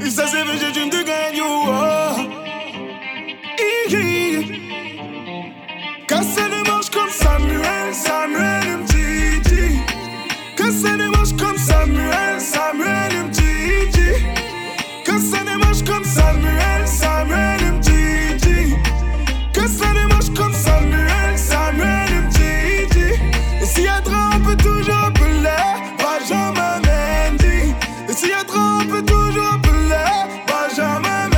Ça c'est vrai, j'ai dream to get you. Casser les manches comme Samuel, Samuel Mtiti. Casser les manches comme Samuel, Samuel Mtiti. Casser les manches comme Samuel, Samuel Mtiti. Casser les manches comme Samuel, Samuel Mtiti. Et s'il y a trop, on peut toujours appeler Benjamin Mendy. Et s'il y a trop, on peut toujours appeler Benjamin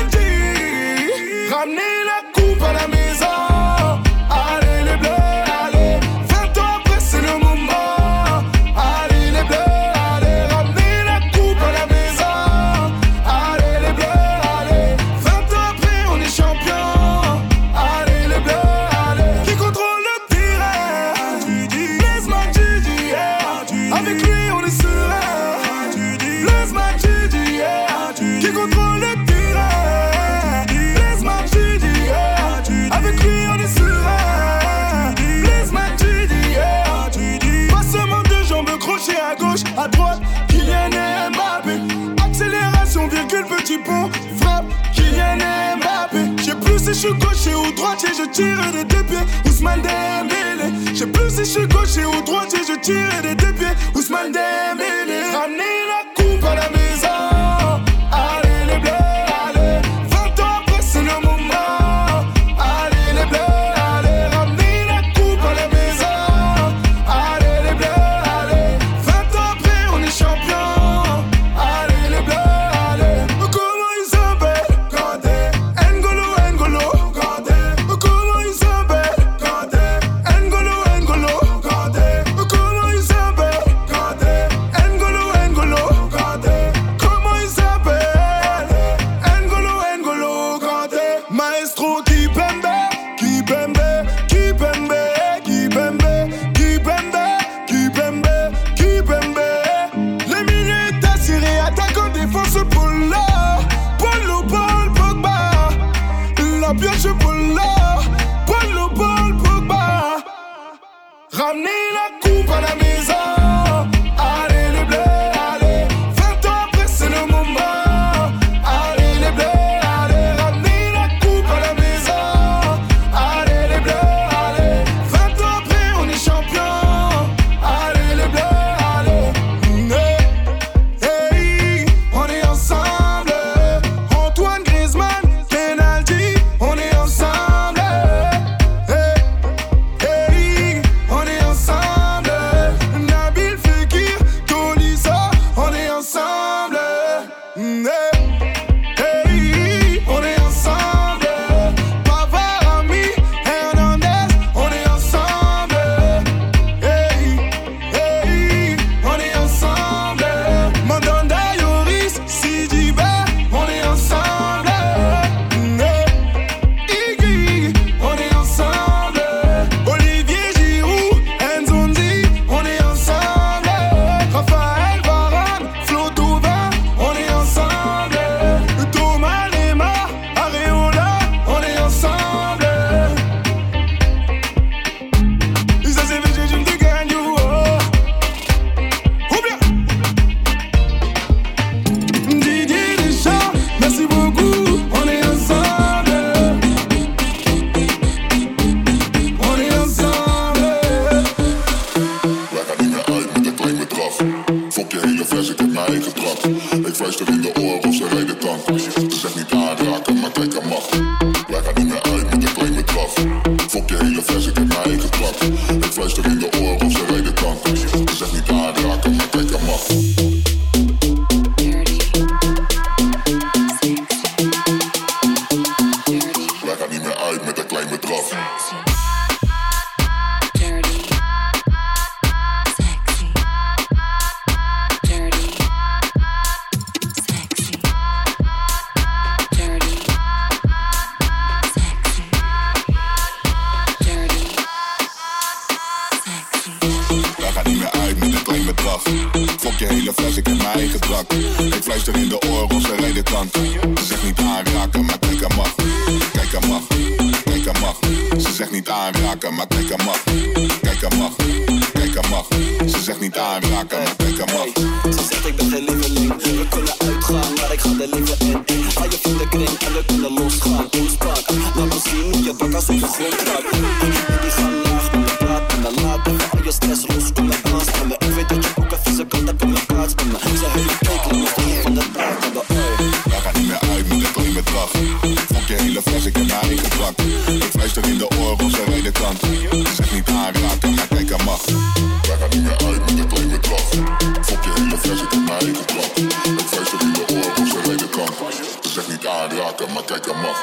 Mendy. Ramenez la coupe à la maison. Allez les bleus, allez. 20 ans après c'est le moment. Allez les bleus, allez. Ramenez la coupe à la maison. Allez les bleus, allez. 20 ans après on est champion. Allez les bleus, allez. Qui contrôle le terrain? Blaise Matuidi, yeah. Avec lui on est serein. Blaise Matuidi, yeah. Qui contrôle le terrain? Blaise Matuidi, yeah. Avec lui on est serein. Blaise Matuidi, yeah. Passement de jambes, crochet à gauche, à droite. Kylian Mbappé. Accélération, virgule, petit pont. Frappe, Kylian Mbappé. J'sais plus si j'suis gaucher ou droitier, je tire des deux pieds. Ousmane Dembélé. J'sais plus si j'suis gaucher ou droitier, je tire des deux pieds. Ousmane Dembélé. Ramenez la coupe à la maison. Allez les bleus, allez. 20 ans après c'est le moment. Allez les bleus, allez. Ramenez la coupe à la maison. Allez les bleus, allez. 20 ans après on est champion. Allez les bleus, allez. Comment ils s'appellent? Kanté, N'Golo, N'Golo, Kanté. Comment ils s'appellent? Kanté, N'Golo, N'Golo, Kanté. Comment ils s'appellent? Kanté, N'Golo, N'Golo, Kanté. Comment ils s'appellent? N'Golo, N'Golo, Kanté. Maestro Kipembe, Kipembe, Kipembe, Kipembe, Kipembe, Kipembe, Kipembe. Les milieux est assuré, attaquant, défense, Polo, Polo, Paul, Pogba. La pioche, Polo, Polo, Paul, Pogba. Ramenez la coupe à la maison. Allez les bleus, allez. 20 ans après c'est le moment. Allez les bleus, allez. Ramenez la coupe à la maison. Allez les bleus, allez. 20 ans après on est champion. Allez les bleus, allez. Hey, on est ensemble. Antoine Griezmann, penalty, on est ensemble. Hey, on est ensemble. Nabil Fekir, Tolisso, on est ensemble. Hey, on est ensemble. Pavard, Ami, Hernandez, on est ensemble. Hey, on est ensemble. Mandanda, Yoris, Sidibé, on est ensemble. Iggy, on est ensemble. Olivier Giroud, Nzonzi, on est ensemble. Raphaël Varane, Flo Thauvin, on est ensemble. Thomas Lemar, Areola, on est ensemble. Ça c'est vrai, j'ai dream to get you. Ou bien Didier Deschamps, merci beaucoup, on est ensemble. On est ensemble. Wij gaan niet meer uit met een klein bedrag. Fok je hele vers, ik heb mijn eigen trap. Ik fluister in de oren of ze rijden tank. Ze zegt niet aanraken, maar kijk aan mag. Wij gaan niet meer uit met een klein bedrag. Fok je hele vers, ik heb mijn eigen trap. Ik fluister in de oren of ze rijden tank. Ze zegt niet aanraken, maar kijk aan mag. Wij gaan niet meer uit met een klein bedrag. Wij gaan niet meer uit met een klein bedrag. Fok je hele fles, ik heb mijn eigen drak. Ik fluister in de oren of ze rijden tank. Ze zegt niet aanraken, maar kijk aan mag. Kijk aan mag, kijk aan mag. Ze zegt niet aanraken, maar kijk aan mag. Kijk aan mag, kijk aan mag. Ze zegt niet aanraken, maar kijk aan mag. Ze zegt ik ben geen lieveling. We kunnen uitgaan, maar ik ga willen leven in. Ga je vrienden kring en we kunnen losgaan. Toespraak, laat me zien hoe je bakkers op de grond raakt. Die gaan laag met me praten me. Laat even al je stress los, kom en dans met me. Ik weet dat je ook een vieze kant hebt in mijn plaats met me. Ze hebben kijken, nog niet van de taart hebben. Wij gaan niet meer uit met een kleine dracht. Fok je hele fles, ik heb mijn eigen drank. Ik fluister in de oren, ze rijden kant. Zeg niet aanraken, maar kijk aan mag. Wij gaan niet meer uit met een kleine dracht. Fok je hele fles, ik heb mijn eigen drank. Ik fluister in de oren, ze rijden kant. Zeg niet aanraken, maar kijk aan mag.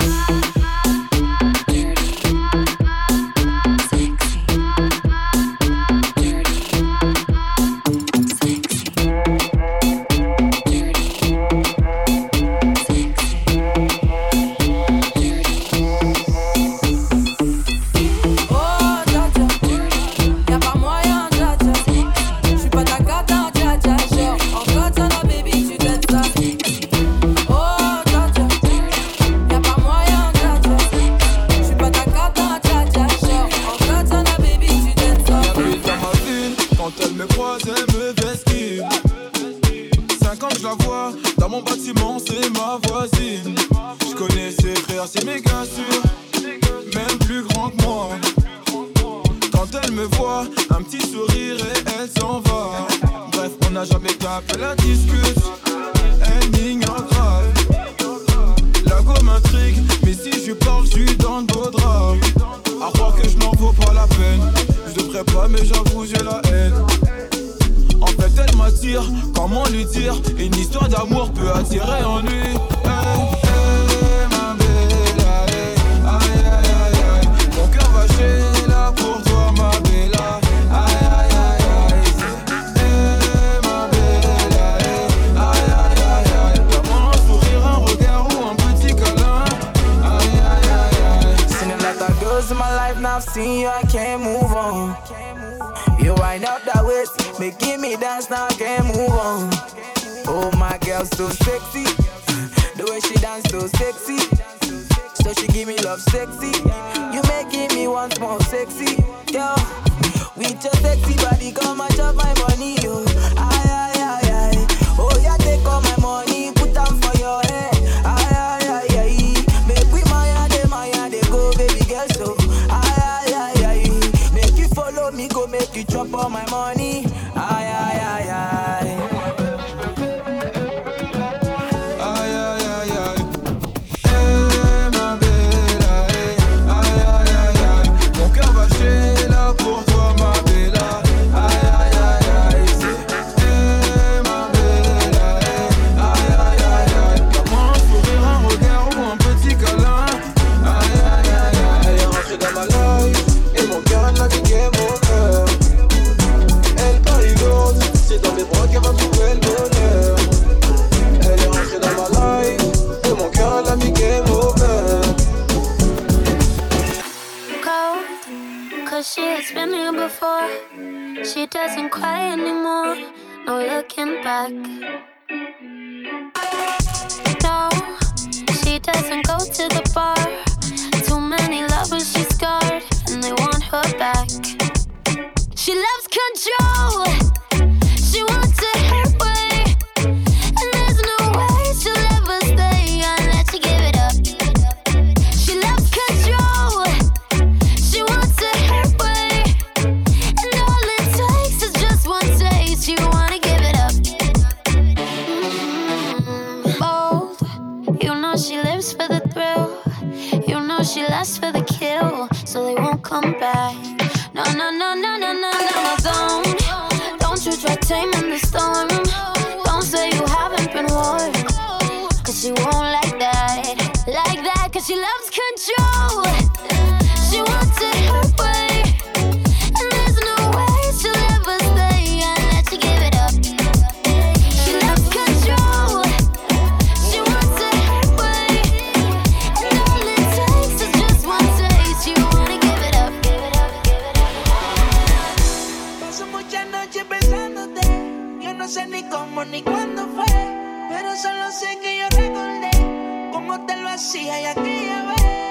hacía y aquella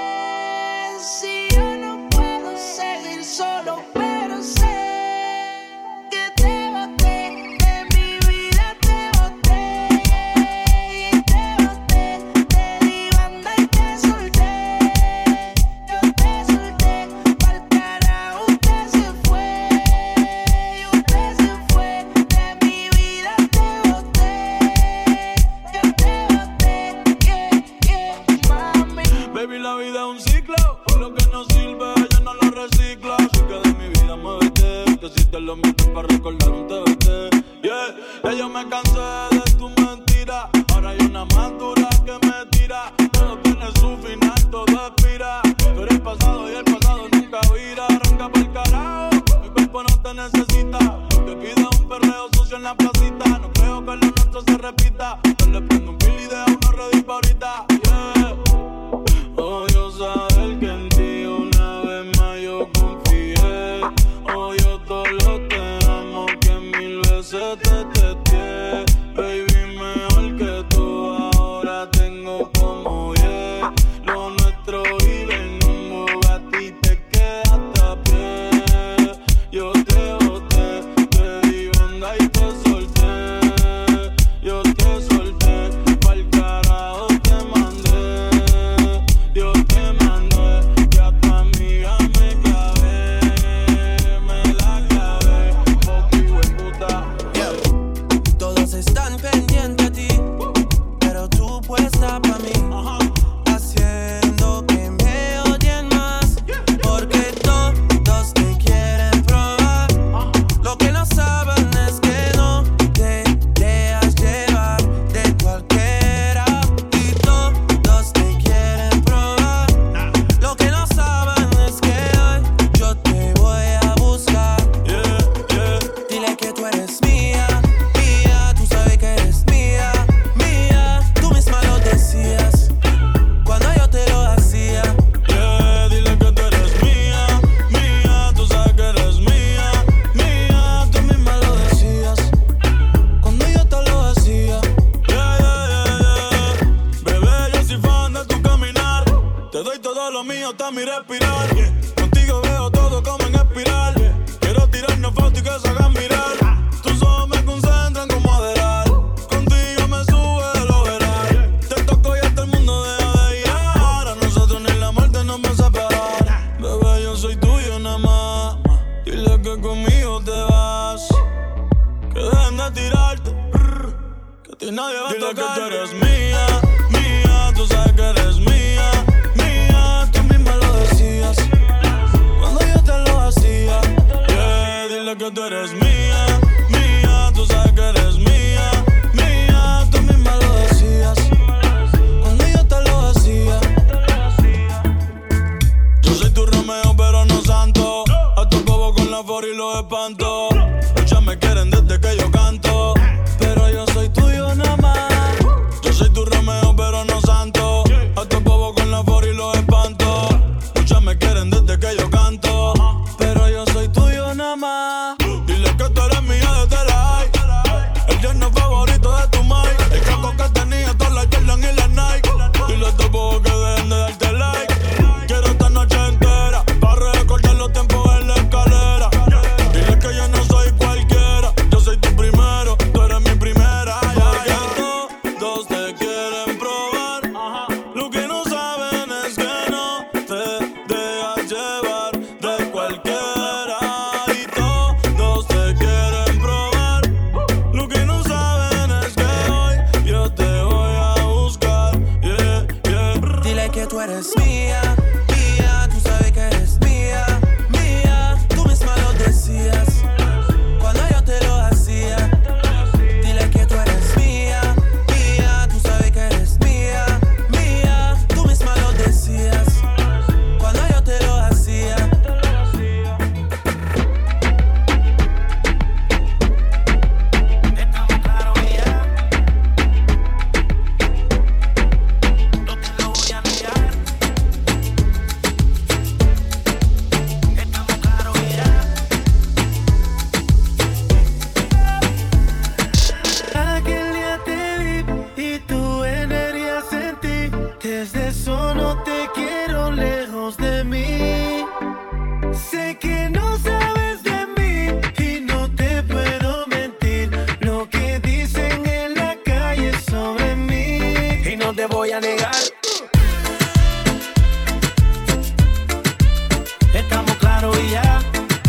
vez. Si yo no puedo seguir solo, pero sé que te boté, de mi vida te boté, y te boté. me cansé de tu mentira. Ahora hay una más dura que me tira. Todo tiene su final, todo expira. Tú eres pasado y el pasado nunca vira. Arranca pa'l carajo, mi cuerpo no te necesita. Lo que pide es un perreo sucio en la placita. No creo que lo nuestro se repita. Yo le prendo un bill y dejo una ready pa' ahorita. Yeah. Odio saber que en ti una vez más yo confié. Odio todo lo te amo que mil veces te testé. Baby, mejor que tú ahora tengo como yeah. Lo nuestro vive en un Bugatti y te quedaste a pie. Yo te boté, te di banda y te solté. Yo te solté, pa'l carajo te mandé. Yo te mandé, que a tu amiga me clavé. Me la clavé, poco hueputa. Todos están pendientes a ti, pero tú puesta pa' mí, haciendo que me odien más, porque todos te quieren probar. Lo que no saben es que no te dejas llevar de cualquiera, y todos te quieren probar. Lo que no saben es que hoy yo te voy a buscar. Dile que tú eres mía, mía, tú sabes que eres mía, mía. Tú misma lo decías cuando yo te lo hacía. Dile que tú eres mía, mía, tú sabes que eres mía, mía. Tú misma lo decías cuando yo te lo hacía. Bebé, yo soy fan de tu caminar. Te doy todo lo mío hasta mi respirar. Contigo veo todo como en espiral. Quiero tirarnos fotos y que se hagan mirar. Tus ojos me concentran como Adderall. Contigo me sube de lo veral. Te toco y hasta el mundo deja de girar. A nosotros ni la muerte nos va a separar. Bebé, yo soy tuyo nada más. Dile que conmigo te vas. Que dejen de tirarte. Que a ti nadie va a tocar. Dile que tú eres mía, mía. Tú sabes que eres mía, mía. Tú misma lo decías cuando yo te lo hacía. Dile que tú eres mía, mía. Tú sabes que eres mía, mía. Tú misma lo decías cuando yo te lo hacía. Yo soy tu Romeo pero no santo. A tu bobo con la for y los espanto. Muchas me quieren desde que yo canto, Pero yo soy tuyo nada más. yo soy tu Romeo pero no santo. A tu bobo con la for y los espanto. Muchas me quieren desde que yo canto, Pero yo soy tuyo nada más. dile que tú eres mía desde la high. El yerno favorito de tu mai. El caco que tenía todas las Jordan y las Nike. Dile a tu bobo que dejen de darte like. Quiero esta noche entera para recordar los tiempos en la escalera. Dile que yo no soy cualquiera. Yo soy tu primero, tú eres mi primera. Todos te quieren probar. Lo que no saben es que no te dejas llevar de cualquiera. Y todos te quieren probar. Lo que no saben es que hoy yo te voy a buscar. Dile que tú eres mía, mía. Tú sabes que eres mía, mía. Tú misma lo decías cuando yo te lo hacía. Dile que tú eres mía, mía. Tú sabes que eres mía, mía. Tú misma lo decías cuando yo te lo hacía. Estamos claros ya. No te lo voy a negar. Estamos claros ya. Aquel día te vi y tu energía sentí. Desde eso no te quiero lejos de mí. Sé que no sabes de mí y no te puedo mentir. Lo que dicen en la calle sobre mí y no te voy a negar. Estamos claros y ya.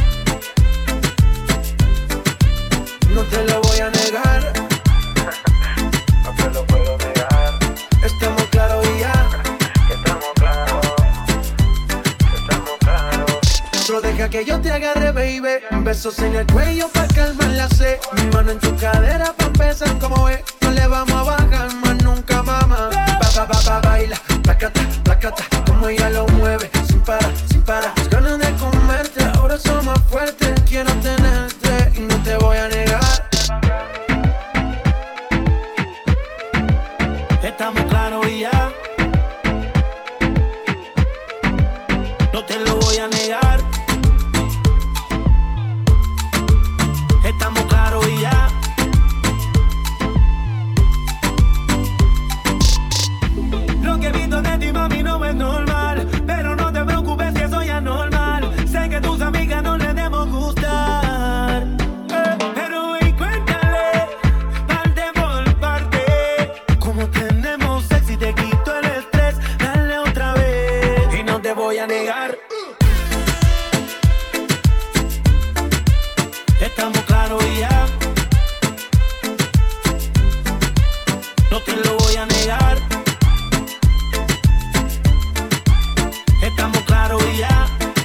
No te lo voy a negar. No te lo puedo negar. Estamos claros y ya. Estamos claros. Estamos claros. Solo deja que yo te agarre, baby. Besos en el cuello pa' calmar la sed. Mi mano en tu cadera pa' empezar como es. No le vamos a bajar más nunca, mamá. Baila, placata, placata. Como ella lo mueve, sin parar, sin parar. Las ganas de comerte, ahora son más fuertes. Quiero tenerte y no te voy a negar. Estamos claros y ya. No te lo voy a negar. Estamos claros y ya. Lo que he visto de ti, mami, no es normal. Pero no te preocupes si eso ya es normal. Sé que tus amigas no les debemos gustar. Pero ven, cuéntale, parte por parte. Como tenemos sexy, te quito el estrés. Dale otra vez. Y no te voy a negar. Estamos claros y ya. No te lo voy a negar. Estamos claros y ya.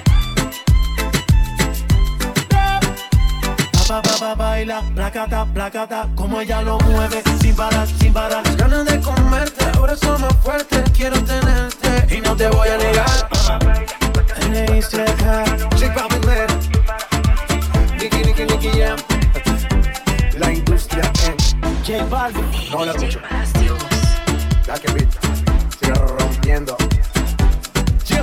Baila, placata, placata. Como ella lo mueve, sin parar, sin parar. Las ganas de comerte, ahora son más fuertes. Quiero tenerte y no te voy a negar. J Balvin, Nicky Jam. La industria en J Balvin. no la escucho. La que beat, sigue rompiendo. Yo.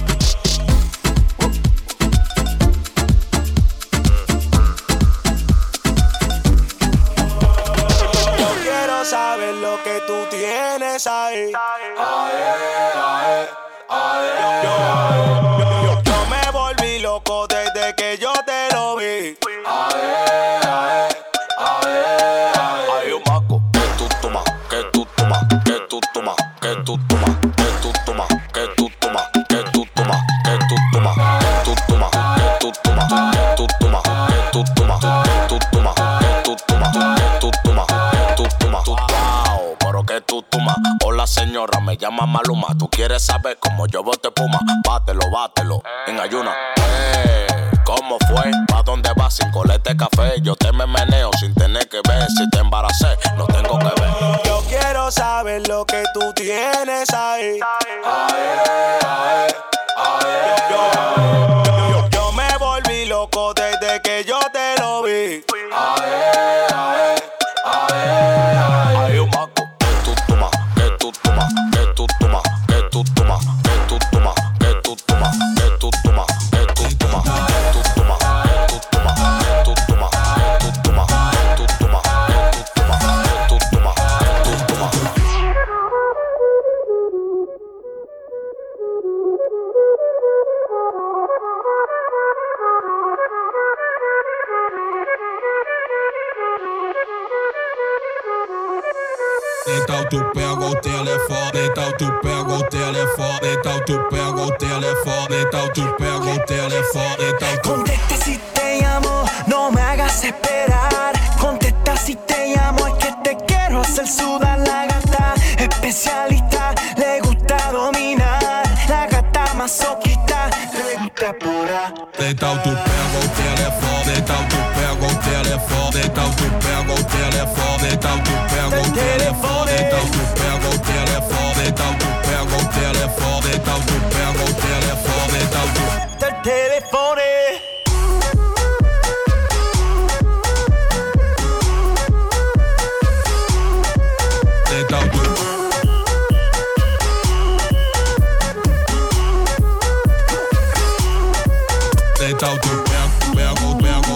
Yo quiero saber lo que tú tienes ahí. Yo me volví loco desde que yo te lo vi. Hay un maco que tú tomas, que tú tomas, que tú tomas, que tú tomas, que tú tomas, que tú tomas, que tú tomas, que tú tomas, que tú tomas, que tú tomas, que tú tomas, que tú tomas, que tú tomas, que tú tomas, que tú tomas, que tú tomas. Wow, pero que tú tomas. Hola señora, me llama Maluma. Tú quieres saber cómo yo bote puma. Bátelo, bátelo, en ayuna. ¿Cómo fue? ¿Pa' dónde vas sin colete café? Yo te me meneo sin tener que ver. Si te embaracé, no tengo que ver. Yo quiero saber lo que tú tienes ahí. Yo me volví loco desde que yo te lo vi. Hay un maco que tú tomas, que tú tomas, que tú tomas, que tú tomas, que tú tomas, que tú tomas, que tú tomas, que tú tomas, que tú tomas, que tú tomas, que tú tomas, que tú tomas, que tú tomas, que tú tomas, que tú tomas, que tú tomas. Então tu pega o telefone, então tu pega o telefone, então tu pega o telefone, então tu pega o telefone, então tu... Contesta si te llamo, no me hagas esperar. Contesta si te llamo, es que te quiero hacer sudar la gata. Especialista, le gusta dominar. La gata masoquista, le gusta pura. Então tu pega o telefone, então tu pega o telefone, então tu pega o telefone, então tu pega o telefone, então tu pega o telefone, então tu pega o telefone, então tu pega o telefone, então tu... Del telefone. Então tu... Então tu pega o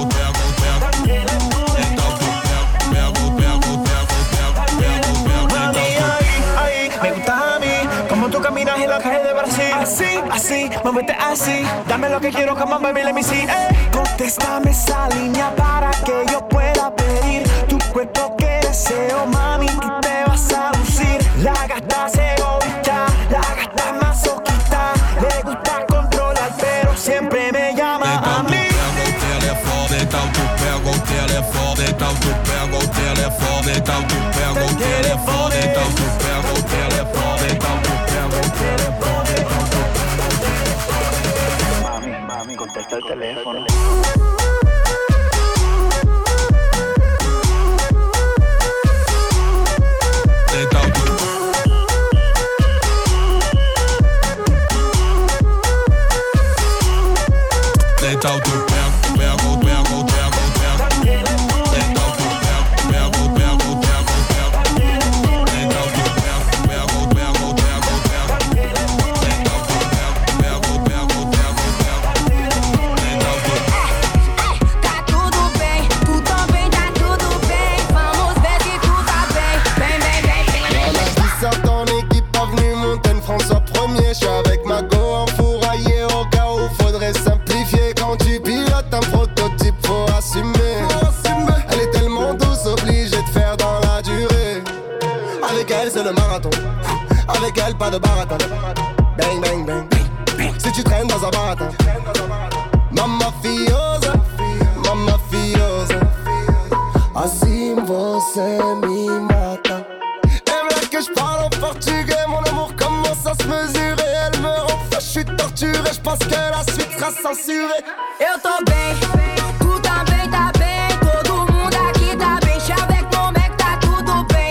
Me gustas a mí, como tú caminas en la calle de Brasil. Así, así, muévete así. Dame lo que quiero, come on, baby, let me see. Contéstame esa línea para que yo pueda pedir tu cuerpo que deseo, mami, tú te vas a lucir. La gata es egoísta, la gata es masoquista. Le gusta controlar, pero siempre me llama a mí. Então tu pega o telefone, então tu pega o telefone, então tu pega o telefone, então tu pega o telefone, então tu pega o telefone, então tu pega o telefone. Mami, contesta el teléfono. Avec elle c'est le marathon. Avec elle pas de baratin. Bang bang bang. Si tu traînes dans un baratin. Mamma fiosa, mamma fiosa. Assim você me mata. Elle veut que je parle en portugais. Mon amour commence à se mesurer. Elle me rend fou, je suis torturé. Je pense que la suite sera censurée. Eu tô bem, tu também tá bem. Todo mundo aqui tá bem. Avec mon mec tá tudo bem.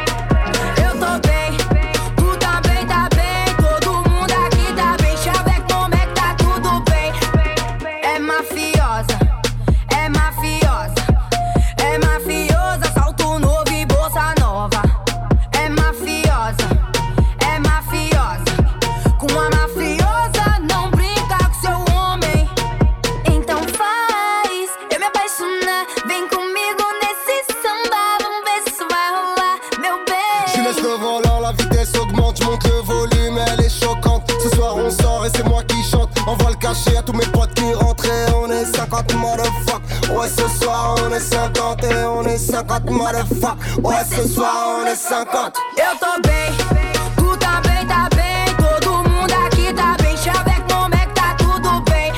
Eu tô bem, tu também tá bem. Todo mundo aqui tá bem. Avec mon mec tá tudo bem. É mafiosa, é mafiosa. É mafiosa, salto novo e bolsa nova. É mafiosa, é mafiosa. Com a mafiosa não brinca com seu homem. Então faz eu me apaixonar. Vem comigo nesse samba. Vamos ver se isso vai rolar, meu bem. Je laisse le volant, la vitesse augmente. Je monte le volume, elle est choquante. Ce soir on sort et c'est moi qui chante. Envoie le cachet à tous mes potes qui rentrent. Et on est 50 motherfuck. Ouais ce soir on est 50 et on est 50 motherfuck. Ouais ce soir on est 50. Eu tô bem, tu também tá bem. Todo mundo aqui tá bem. Avec mon mec tá tudo bem.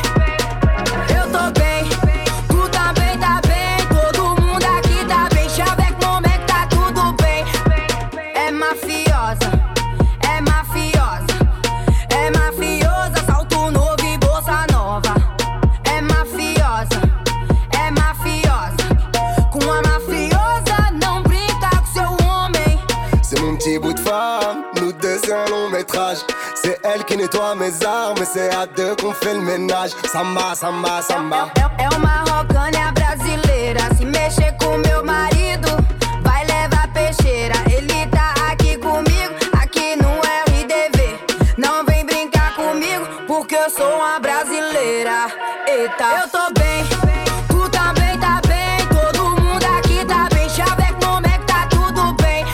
Eu tô bem, tu também tá bem. Todo mundo aqui tá bem. Avec mon mec tá tudo bem. É mafiosa, é mafiosa. É mafiosa, salto novo e bolsa nova. É mafiosa, é mafiosa. Com a mafiosa não brinca com seu homem. C'est mon petit bout de femme, nous deux c'est un long métrage. C'est elle qui nettoie mes armes et c'est à deux qu'on fait le ménage. Samba, samba, samba. É uma rocânia brasileira. Se mexer com meu marido, vai levar peixeira. Ele tá aqui comigo, aqui no RDV. Não vem brincar comigo, porque eu sou uma brasileira. Eita, eu tô bem, tu também tá bem. Todo mundo aqui tá bem. Avec mon mec tá tudo bem.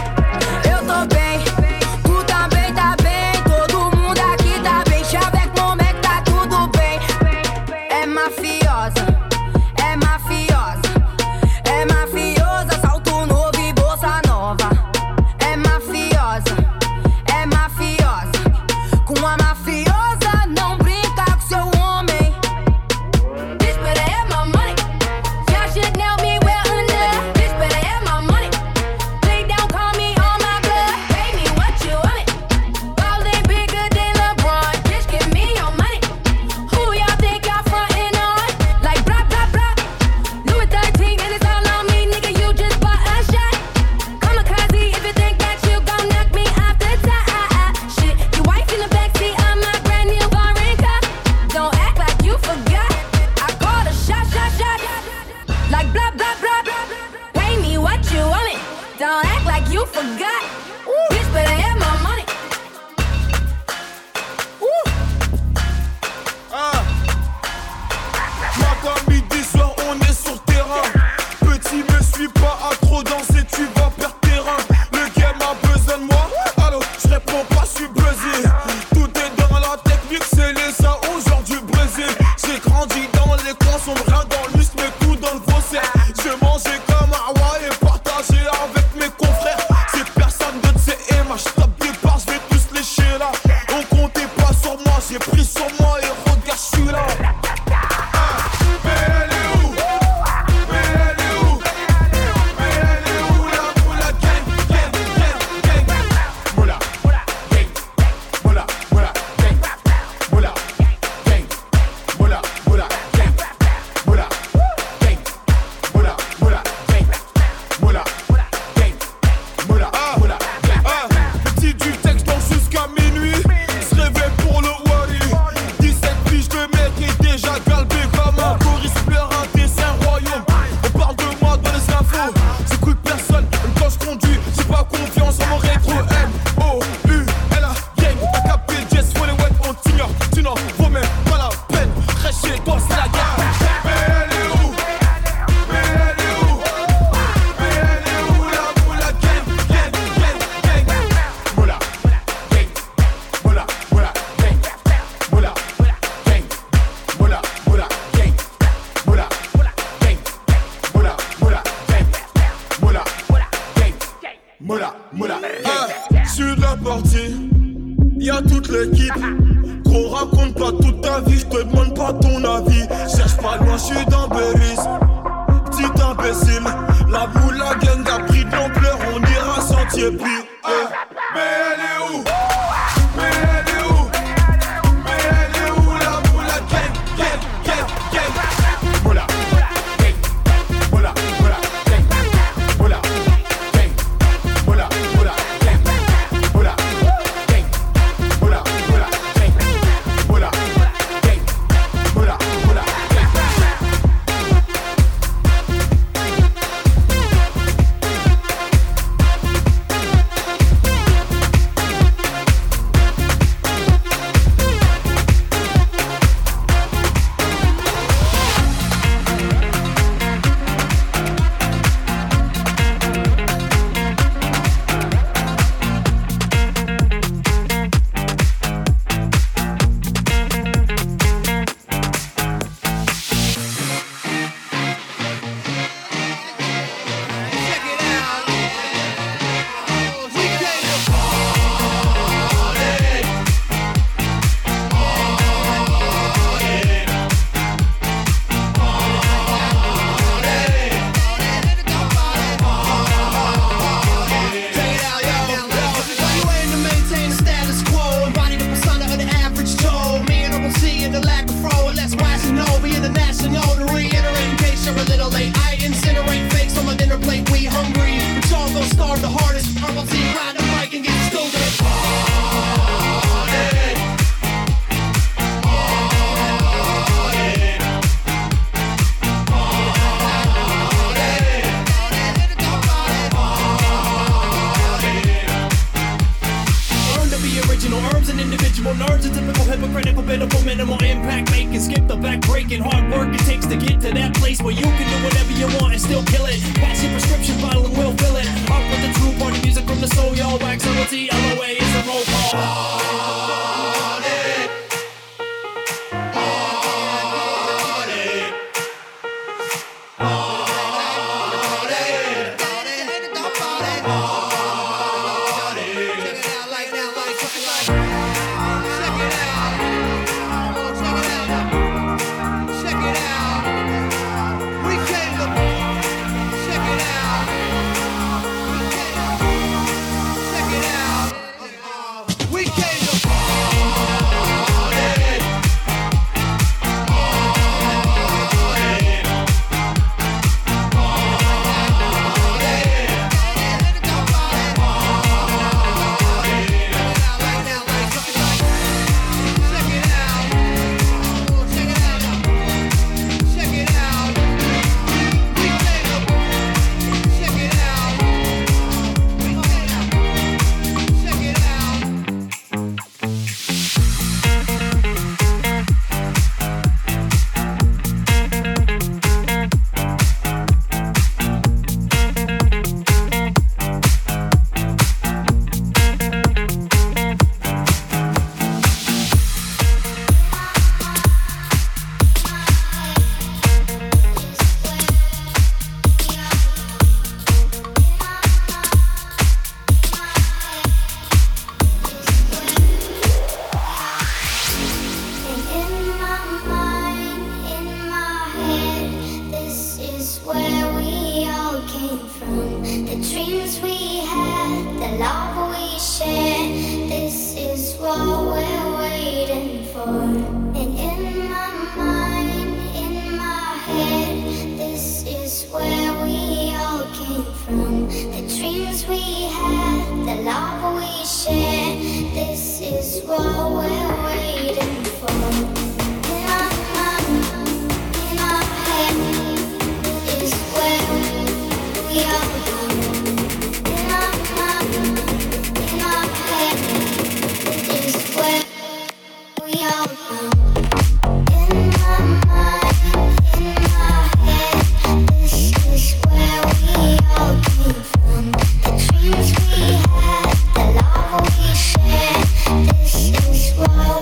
Eu tô bem, tu também tá bem. Todo mundo aqui tá bem. Avec mon mec tá tudo bem. É mafiosa, é mafiosa. É mafiosa, salto novo e bolsa nova. É mafiosa, é mafiosa. Com a mafiosa não brinca com seu homem. Bitch better have my money. Y'all should know me well enough. Bitch better have my money. Play down, call me on my blood. Pay me what you want it. Ballin' bigger than LeBron. Bitch, give me your money. Who y'all think y'all frontin' on? Like blah blah blah. Louis 13 and it's all on me, nigga. You just bought a shot. Kamikaze if you think that you gon' knock me off the top. Shit, your wife in the backseat of my brand new foreign car. Don't act like you forgot. I called a shot, shot, shot. Like blah blah blah. Pay me what you want it. Don't act like you forgot. Bitch better have my money. Matin, midi, soir, on est sur terrain. Petit, me suis pas à trop danser, tu vas perdre terrain. Le game a besoin de moi, allô, je réponds pas, je suis buzzé. Tout est dans la technique, c'est les ça aujourd'hui Brésil. J'ai grandi dans les coins sombres, rien dans le muscle, mes coups dans le faussaire. J'ai mangé comme un roi et partagé avec mes confrères. C'est personne de ces images, je tape des barres, je vais tous lécher là. On comptait pas sur moi, j'ai pris sur moi et regarde, je suis là. Petit du texte dans jusqu'à minuit. Se réveille pour le Wally. 17 piges de mec est déjà galbé comme un Boris pleure un dessin royaume. On parle de moi dans les infos. J'écoute personne, même quand je conduis. J'ai pas confiance en mon rétro. M-O-U-L-A gang. T'as capté Jess, faut les web, on t'ignore. Tu n'en vaut même pas la peine. Reste chez toi, c'est la guerre. Mais elle est où? Mais elle est où? Mais elle est où la moula gang? Gang, gang, gang. Moula, gang. Moula, moula, gang. Moula, gang. Moula, moula, gang. Moula, gang. Moula, moula, gang. Moula, gang. moula, moula. Sur la partie, y'a toute l'équipe. Gros, raconte pas toute ta vie, j'te demande pas ton avis. Cherche pas loin, j'suis dans Berry's. Petit imbécile, la boule, la gang a pris de l'ampleur, on ira sentier pire. Mais elle est où? Mais elle est où? Mais elle est où la moula gang, gang, gang, gang? Moula, gang, moula, moula, gang, moula, gang, moula, moula, gang, moula, gang, moula, moula, gang, moula, gang, moula, moula, gang. This is why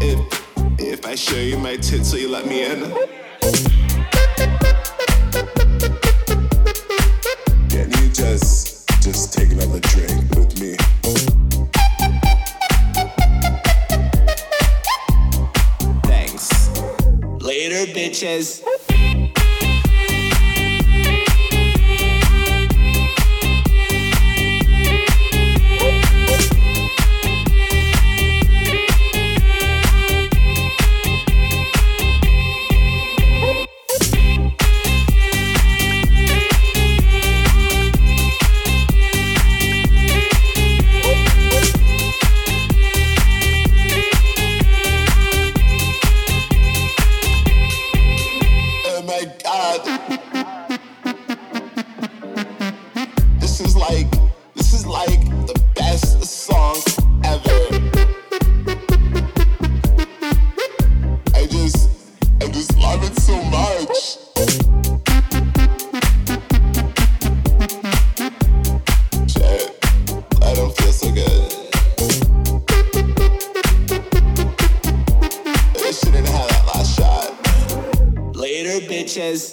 If I show you my tits, will you let me in? Can you just take another drink with me? Thanks. Later, bitches. This is like the best song ever. I just love it so much. Shit, I don't feel so good. I shouldn't have that last shot. Later, bitches.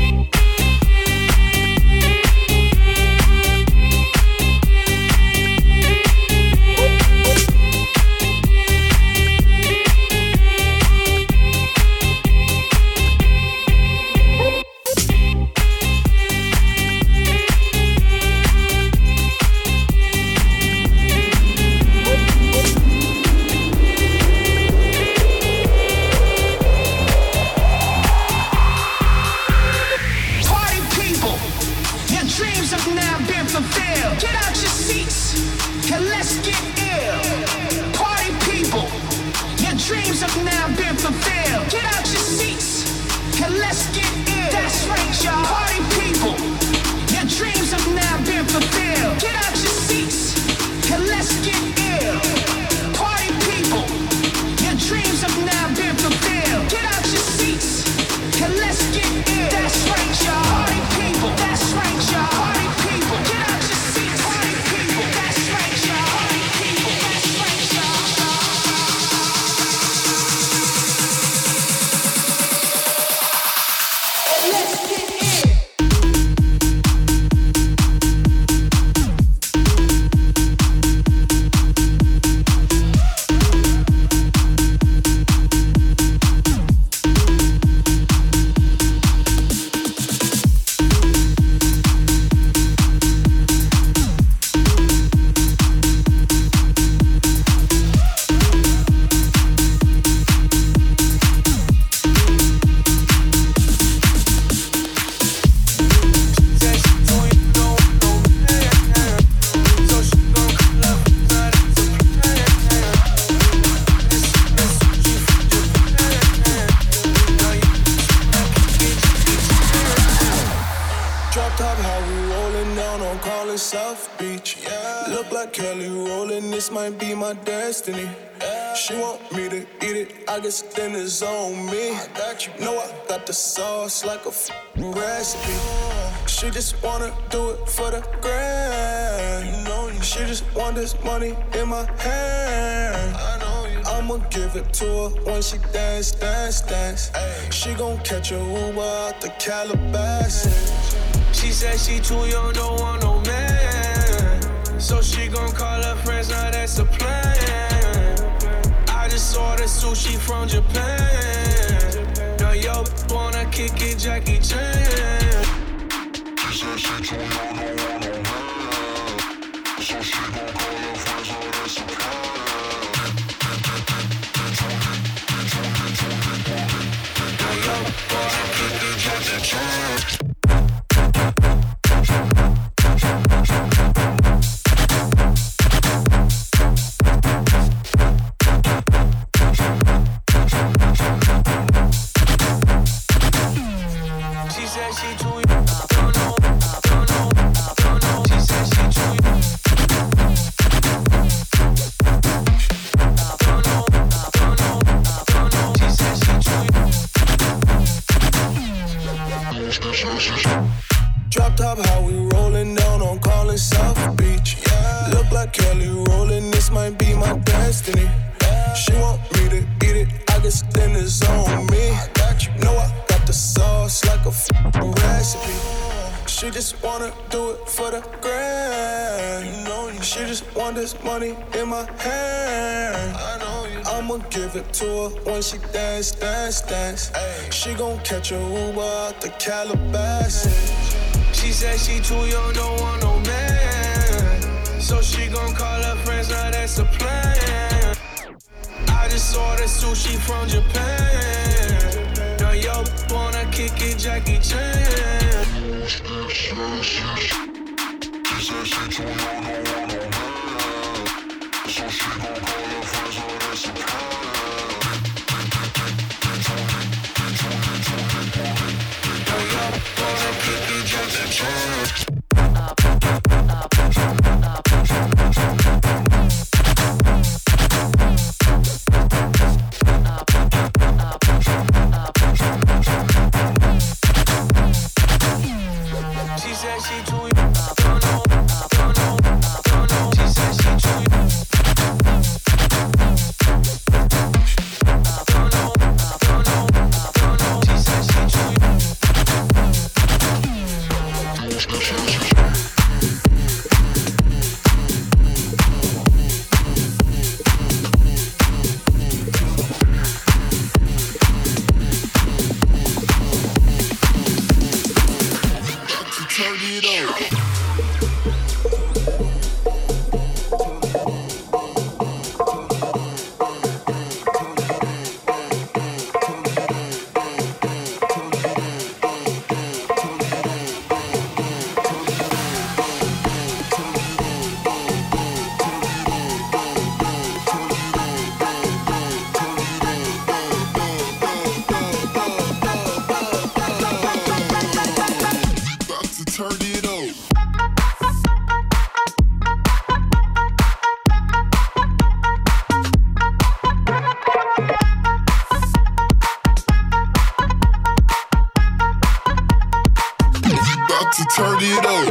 She want me to eat it, I guess dinner's on me. I got you, know I got the sauce like a recipe. She just wanna do it for the grand. You know, she just want this money in my hand. I know you. I'ma give it to her when she dance, dance, dance. Ay. She gon' catch a Uber out the Calabasas. She said she too young, don't want no man. So she gon' call her friends, now that's a plan. I just ordered sushi from Japan. Now yo wanna kick it, Jackie Chan. She said she too young, don't want no man. So she gon' call her friends, now that's a plan. Now yo wanna kick it, Jackie Chan. Drop top, how we rollin' down on Collin South Beach. Yeah. Look like Kelly rollin', this might be my destiny. Yeah. She want me to eat it, just wanna do it for the grand. You know, she just want this money in my hand. I know you. I'ma give it to her when she dance, dance, dance. Ay. She gon' catch a Uber out the Calabasas. She said she too young, don't want no man. So she gon' call her friends, now that's a plan. I just ordered sushi from Japan. Now yo wanna kick it, Jackie Chan. She said she too young, don't want no man. So she gon' call her friends, now that's a plan. Now yo wanna kick it, Jackie Chan. She said she too young, don't know. She said she too young. She said she too young. Turn it up.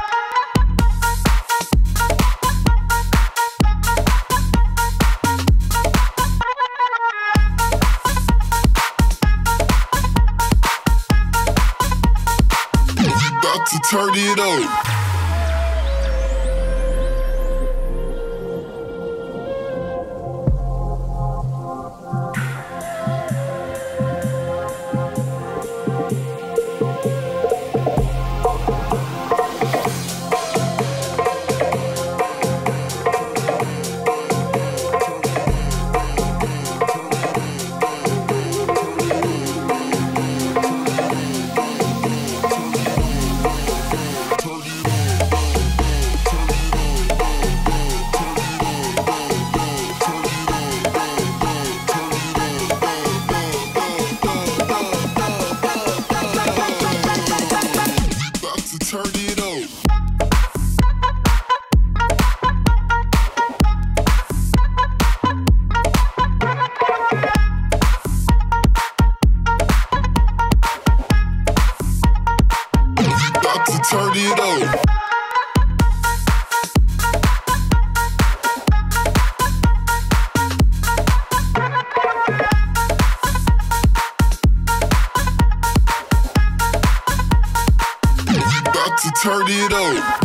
About to turn it up. Turn it up. About to turn it up.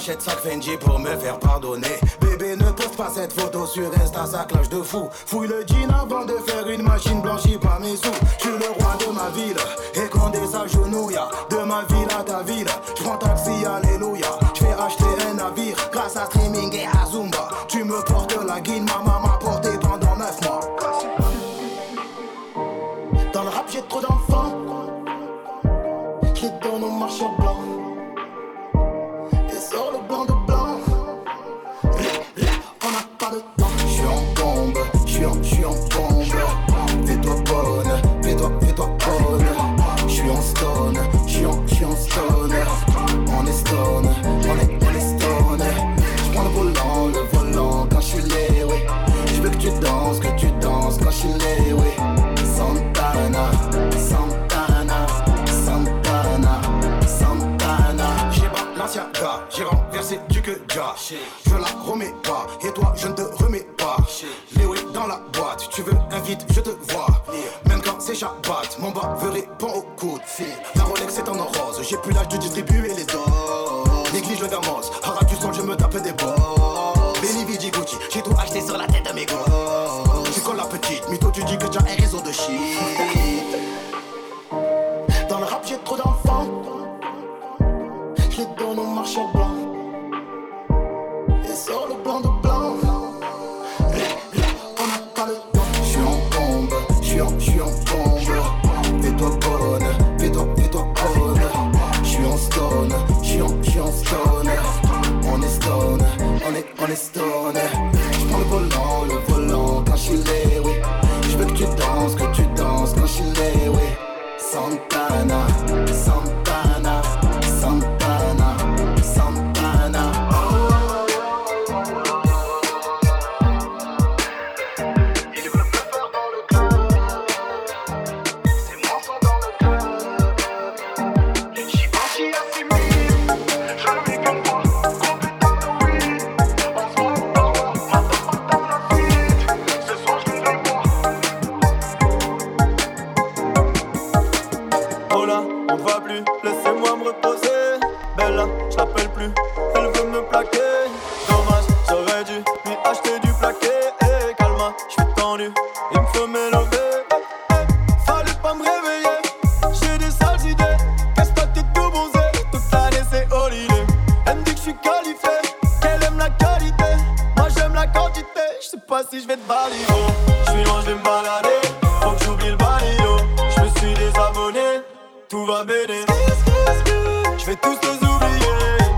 m'achète sac Fendi pour me faire pardonner. Bébé ne poste pas cette photo sur Insta, ça clash de fou. Fouille le jean avant de faire une machine blanchie par mes sous. Je suis le roi de ma ville et Condé s'agenouille. De ma ville à ta ville, je prends taxi, alléluia. Je vais acheter un navire grâce à streaming et à Zumba. Tu me portes la guine, ma maman m'a porté pendant 9 mois. Dans le rap j'ai trop d'enfants, je les donne au marchand blanc. Et sur le blanc de blanc, on n'a pas de temps. Je suis en bombe, je suis en bombe. Fais-toi bonne, fais-toi bonne. Je suis en stone, je suis en stone. On est stone, on est stone. Je prends le volant quand je suis lé, oui. Je veux que tu danses quand je suis lé, oui. Santana, Santana, Santana, Santana. J'ai Balenciaga, j'ai renversé du que ja. Je la remets pas, et toi je ne te remets pas. Léo est dans la boîte, tu veux invite, je te vois. Même quand c'est Shabbat, mon baveur répond au coup de fil. La Rolex est en or rose, j'ai plus l'âge de distribuer les doses. Néglige le gamos, Harad du sol, je me tape des balls. Benny Vidi Gucci, j'ai tout acheté sur la tête de mes gosses. Tu colles la petite, mytho tu dis que tu as un réseau de shit. Dans le rap j'ai trop d'enfants, je les donne au marchand blanc. Et sur le blanc de blanc, on n'a pas le temps. Je suis en bombe, je suis en bombe. Fais-toi bonne, fais-toi bonne. Je suis en stone, je suis en stone. On est stone, on est stone. Je prends le volant quand je suis lé, oui. Je veux que tu danses quand je suis lé, oui. Santana, Santana, Santana, Santana. Il veut me faire dans le club. C'est moi ça dans le club. J'y pense, j'y assimile. Je ne vis qu'une fois. Gros putain de weed. On se voit dans moi. Maintenant partage la suite. Ce soir je vais moi. Oh là, on va plus, laissez-moi me reposer. Bella, je l'appelle plus, elle veut me plaquer. Dommage, j'aurais dû lui acheter du plaqué. Eh, calma, je suis tendu, il me faut m'élever. Fallait pas me réveiller, j'ai des sales idées. Casse ta tête tout bronzé, toute l'année c'est holiday. Elle me dit que je suis qualifié, qu'elle aime la qualité. Moi j'aime la quantité, je sais pas si je vais te balayer. Oh, je suis loin, je vais me balader, faut que j'oublie le balio. Je me suis désabonné, tout va béné. Je vais tous les oublier.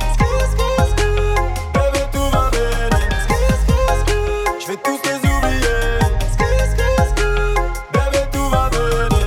Bébé, tout va béné. Je vais tous les oublier. Bébé, tout va béné.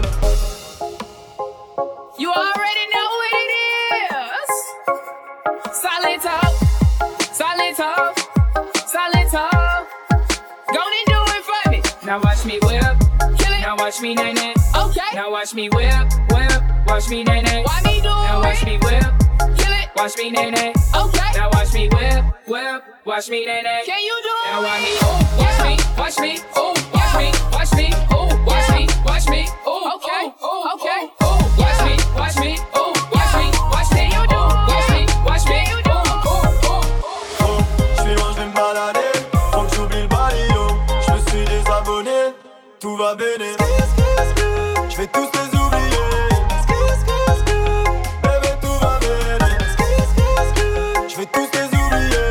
You already know what it is. Silent talk, silent talk, silent talk. Gonna do it for me. Now watch me whip, kill it. Now watch me nay nay. Okay. Now watch me whip, whip. Watch me nay nay. Why me do it? Now watch me whip, kill it. Watch me nay nay. Okay. Now watch me whip, whip. Watch me nay nay. Can you do it? Now watch me, ooh, watch me, watch me, ooh, watch me, watch me, ooh, watch me, watch me, ooh, okay, ooh, okay, ooh, watch me, watch me, ooh, watch me, watch me, you do, watch me, ooh, ooh, ooh. Oh, je suis loin, je vais me balader. Faut que j'oublie le balio. Je me suis désabonné, tout va béné. Je vais tous les oublier. Bébé, tout va béné. Je vais tous les oublier.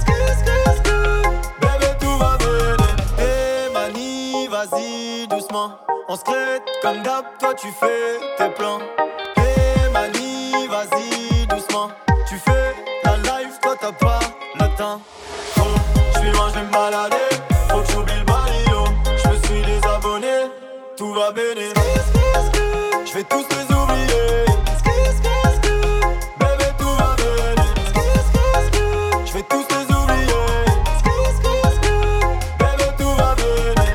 Bébé, tout va béné. Eh mani, vas-y doucement. On se crête comme d'hab, toi tu fais tes plans. Eh mani, vas-y doucement. Tu fais la life, toi t'as pas le temps. Oh, je suis loin, je vais me balader. Faut que j'oublie le balio. Je me suis désabonné, tout va béné. Je vais tous les oublier. Bébé, tout va béné. Je vais tous les oublier. Bébé, tout va béné.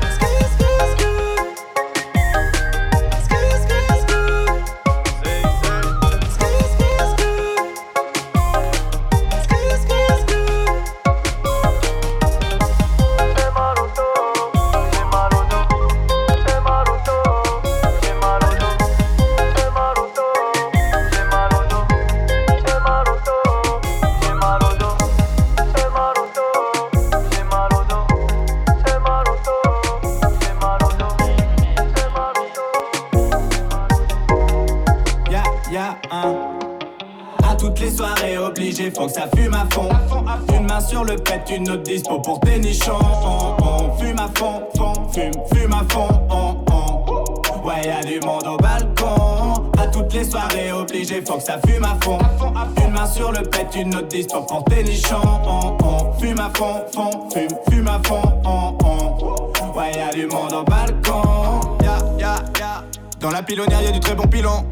obligé, faut que ça fume à fond. Une main sur le pet, une autre dispo pour tes nichons. On fume à fond, fume à fond. Ouais, y'a du monde au balcon. À toutes les soirées obligé, faut que ça fume à fond. Une main sur le pet, une autre dispo pour tes nichons. On fume à fond, fume à fond. Ouais, y'a du monde au balcon. Ya. Dans la pilonnière, y'a du très bon pilon.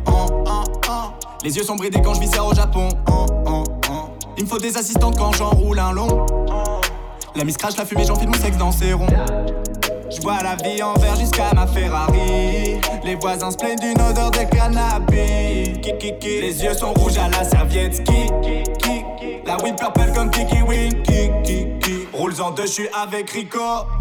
Les yeux sont bridés quand je vis ça au Japon. Il me faut des assistantes quand j'enroule un long. La miss crache la fumée, j'enfile mon sexe dans ses ronds. J'bois la vie en verre jusqu'à ma Ferrari. Les voisins se plaignent d'une odeur de cannabis. Les yeux sont rouges à la serviette ski. La weed purple comme Kiki Wing. Roules en deux, j'suis avec Rico.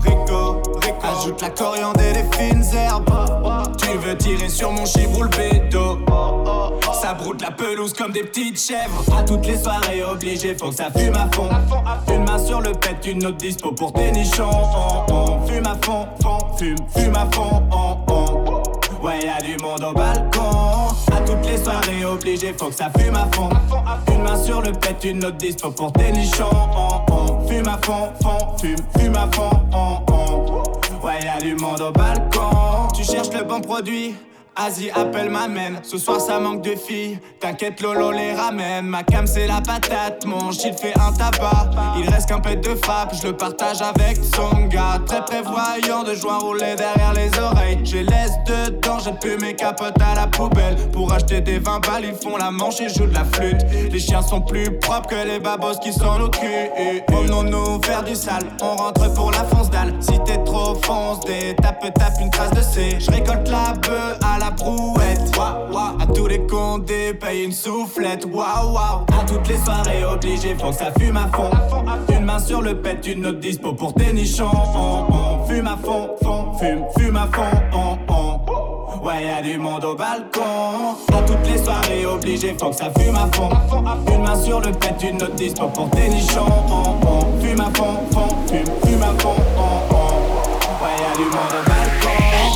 Ajoute la coriandre et les fines herbes. Tu veux tirer sur mon chiffre, roule bédo. Ça broute la pelouse comme des petites chèvres. À toutes les soirées obligé, faut que ça fume à fond. Une main sur le pet, une autre dispo pour tes nichons. On fume à fond, fume à fond. Ouais, y'a du monde au balcon. À toutes les soirées obligé, faut que ça fume à fond. Une main sur le pet, une autre dispo pour tes nichons. On fume à fond, fume à fond. Ouais, y'a du monde au balcon. Tu cherches le bon produit? Asie appelle m'amène, ce soir ça manque de filles. T'inquiète Lolo les ramène. Ma cam c'est la patate, mon shit fait un tabac. Il reste qu'un pet de frappe, je le partage avec son gars. Très prévoyant de joints roulés derrière les oreilles. Je laisse dedans, j'ai plus mes capotes à la poubelle. Pour acheter des 20 balles, ils font la manche et jouent de la flûte. Les chiens sont plus propres que les babos qui sont au cul. Promenons-nous faire du sale, on rentre pour la fonce dalle. Si t'es trop foncé, tape une trace de C. Je récolte la bœuf à la brouette. À tous les condés, paye une soufflette. À toutes les soirées obligé, faut que ça fume à fond. Une main sur le pet, une autre dispo pour tes nichons. On fume à fond, fume à fond. Ouais, y'a du monde au balcon. À toutes les soirées obligé, faut que ça fume à fond. Une main sur le pet, une autre dispo pour tes nichons. On fume à fond, fume à fond. Ouais, y'a du monde au balcon.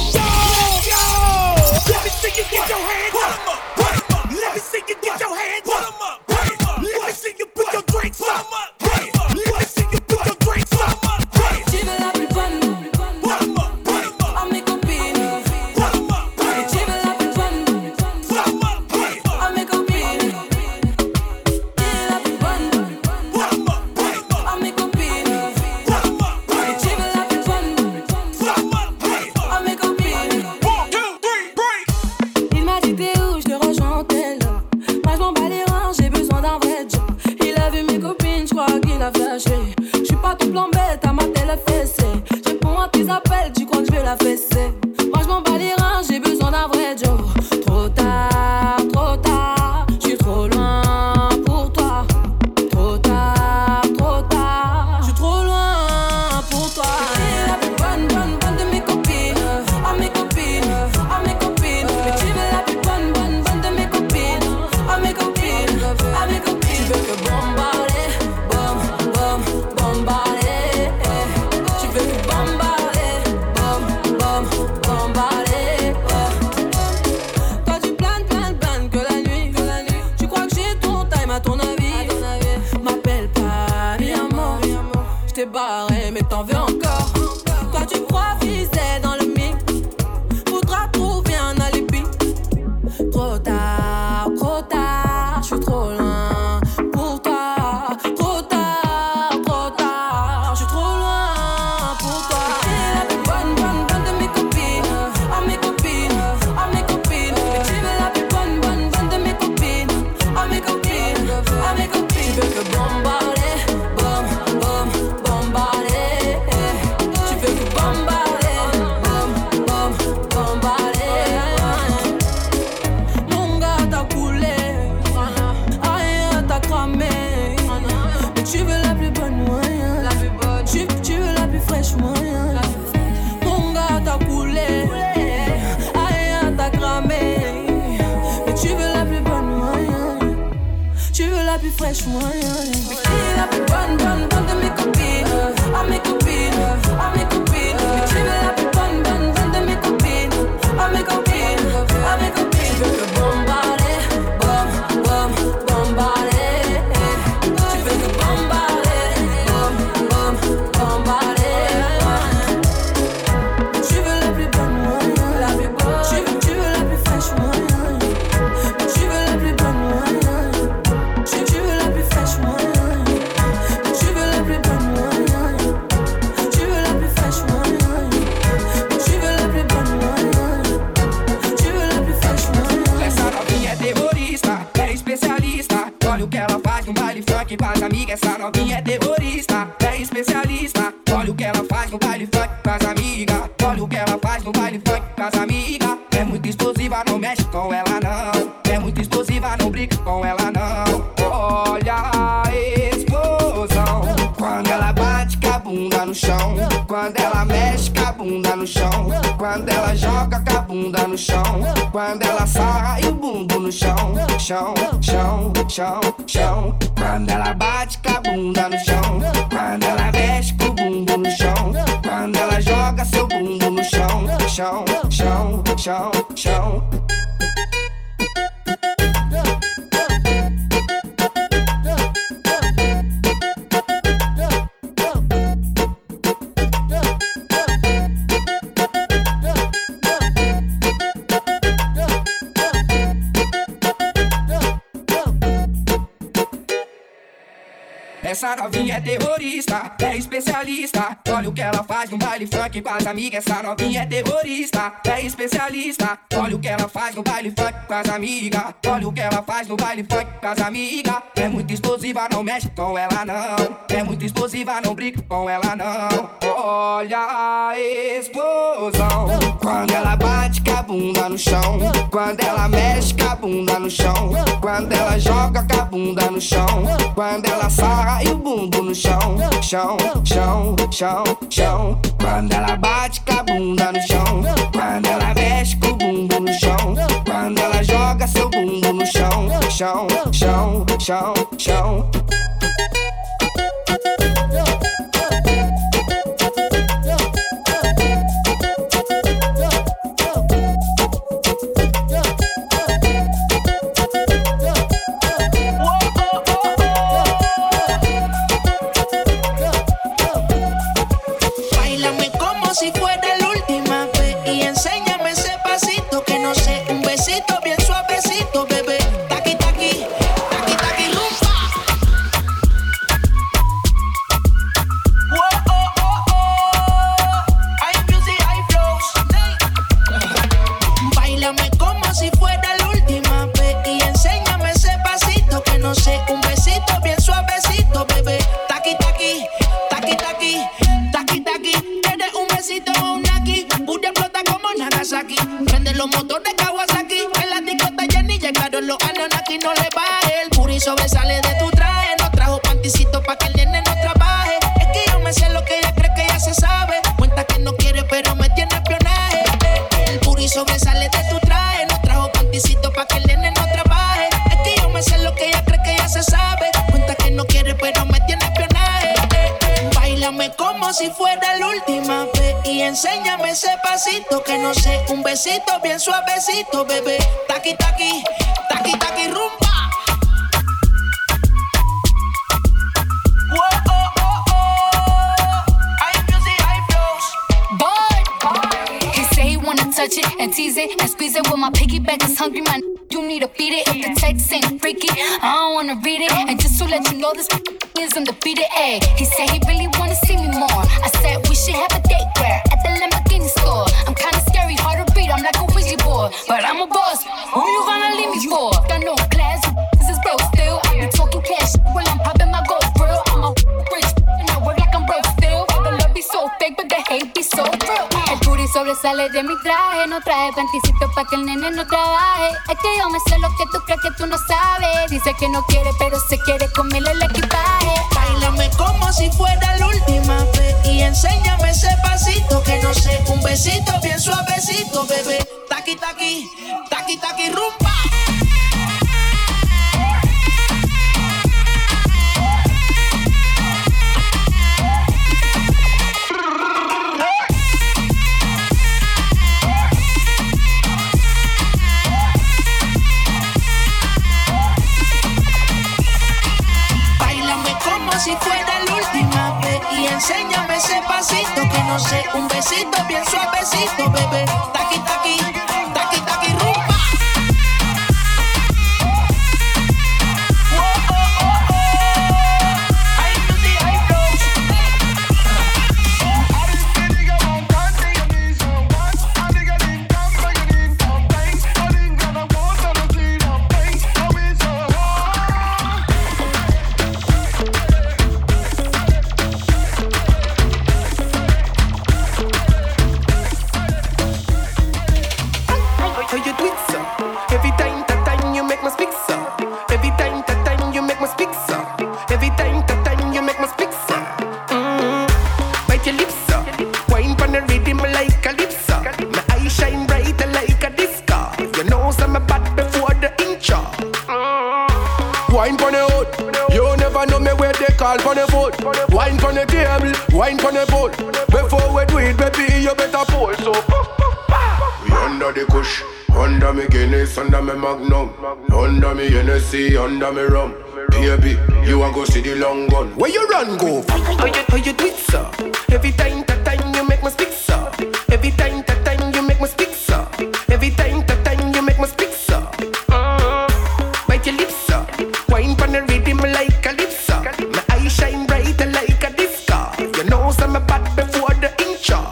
Let me see you get your hands up. Let me see you get your hands up. Let me see you put your drinks up. Let me see you put your drinks up. Tu veux la plus bonne à mes copines. Tu veux la plus bonne à mes copines. Tu veux la plus bonne à mes copines. Tu veux la plus bonne à mes copines. Il m'a dit t'es où, je te rejoins en tel. Moi je m'en bats les reins, j'ai besoin d'un vrai job. Il a vu mes copines, je crois qu'il a flashé. Je suis pas tout plan bête, à ma télé fessée. Je réponds à tes appels, tu crois que je vais la fesser. Moi je m'en bats les reins, j'ai besoin d'un vrai job. Trop tard, je suis trop loin pour toi. Trop tard, je suis trop loin pour toi. Tu es la plus bonne de mes copines. À mes copines, à mes copines. Mais tu veux la plus bonne de mes copines. À mes copines, à mes copines. Tu veux que bombarder, bombarder. Tu veux que bombarder, bombarder. Toi tu planes que la nuit. Tu crois que j'ai ton time à ton avis. M'appelle pas mi amor. J't'ai barré mais t'en veux encore. Toi tu crois viser dans le mix. Faudra trouver un alibi. Trop tard, je suis trop loin pour toi. Trop tard, je suis trop loin pour toi. Tu es la plus bonne de mes copines. À mes copines, à mes copines. Mais tu veux la plus bonne de mes copines. À mes copines, à mes copines. Tu veux que bombarder, bombarder. Tu veux que bombarder, bombarder. Mon gars t'a coulé, aïe t'as cramé. Mais tu veux la plus bonne moyen. Tu veux la plus fraîche moyen. Mon gars t'a coulé, aïe t'as cramé. Mais tu veux la plus bonne moyen. Tu veux la plus fraîche moyen. Mais qui est la plus bonne de mes copines. À mes copines, à mes copines. Mais tu veux la plus bonne de mes copines. À mes copines, à mes copines. Tu veux que bombarder, bombarder. funk com as amigas. Essa novinha é terrorista, é especialista. Olha o que ela faz no baile funk com as amigas. Olha o que ela faz no baile funk com as amigas. É muito explosiva, não mexe com ela não. É muito explosiva, não brinca com ela não. Olha a explosão quando ela bate com a bunda no chão. Quando ela mexe com a bunda no chão. Quando ela joga com a bunda no chão. Quando ela sarra e o bumbum no chão. Chão, chão, chão, chão. Quando ela bate com a bunda no chão. Quando ela mexe com o bumbum no chão. Quando ela joga seu bumbum no chão. Chão, chão, chão, chão. Essa novinha é terrorista, é especialista. Olha o que ela faz no baile funk com as amigas. Essa novinha é terrorista, é especialista. Olha o que ela faz no baile funk com as amigas. Olha o que ela faz no baile funk com as amigas. É muito explosiva, não mexe com ela não. É muito explosiva, não brinca com ela não. Olha a explosão quando ela bate com a bunda no chão. Quando ela mexe com a bunda no chão. Quando ela joga com a bunda no chão. Quando ela sarra e o bumbum no chão. Chão, chão, chão, chão. Quando ela bate com a bunda no chão. Quando ela mexe com o bumbum no chão. Quando ela joga seu bumbum no chão. Chão, chão, chão, chão. Si fuera la última vez y enséñame ese pasito que no sé, un besito bien suavecito, bebé. Taqui taqui, taqui taqui rumba. Oh oh oh oh, hay music, hay flows. Báilame como si fuera la última vez y enséñame ese pasito que no sé, un besito bien suavecito, bebé. Taqui taqui, taqui taqui, taqui taqui. Un Naki, Buria explota como Nagasaki. Prende los motores Kawasaki. En la discota Jenny llegaron los Anunnaki. No le baje, el puri sobresale de tu traje. No trajo panticito pa' que el nene no trabaje. Es que yo me sé lo que ella cree que ya se sabe. Cuenta que no quiere pero me tiene espionaje. El puri sobresale de tu traje. No trajo panticito pa' que el nene no trabaje. Es que yo me sé lo que ella cree que ya se sabe. Cuenta que no quiere pero me tiene espionaje. Báilame como si fuera la última vez y enséñame ese pasito que no sé, un besito bien suavecito, bebé. Taqui taqui, taqui taqui rumba. Oh oh oh oh, hay music, hay flows. Boy, he say he wanna touch it and tease it and squeeze it. When my piggyback is hungry, man, you need to feed it. If the text ain't freaky, I don't wanna read it. And just to let you know, this is undefeated. Ay, he said he really wanna see me more. I said we should have a date where at the Lamborghini store. I'm kinda scary, hard to read, I'm like a Ouija board, but I'm a boss. Who you gonna leave me for? Got no class, this is broke still. I be talking cash while I'm popping my gold grill. I'm a rich and I work like I'm broke still. The love be so fake, but the hate be so real. El booty sobresale de mi traje, no traje panticito pa' que el nene no trabaje. Es que yo me sé lo que tú crees que tú no sabes. Dice que no quiere, pero se quiere comerle el equipaje. Báilame como si fuera la última vez y enséñame ese pasito que no sé, un besito bien suavecito, bebé. Taqui taqui, taqui taqui rumba. Si fuera la última vez y enséñame ese pasito que no sé, un besito bien suavecito, bebé. Taqui taqui, taqui taqui rumba. Oh oh oh oh, hay music, hay flows. the rhythm like calypso. My eyes shine bright like a disco. You know some bad before the intro. Wine pon the hood, you never know me where they call pon the foot. Wine pon the table, wine pon the boat. Before we do it, baby, you better pull. So we under the kush, under me Guinness, under me Magnum, under me Hennessy, under me rum. Baby, you a go see the long gun. Where you run go? How you do it, sir? Every time that time you make me speak, sir. Every time that time you make me speak, sir. Every time that time you make me speak, sir. Bite your lips, sir. Wine pon the rhythm like calypso. My eyes shine bright like a disco. You know some bad before the intro.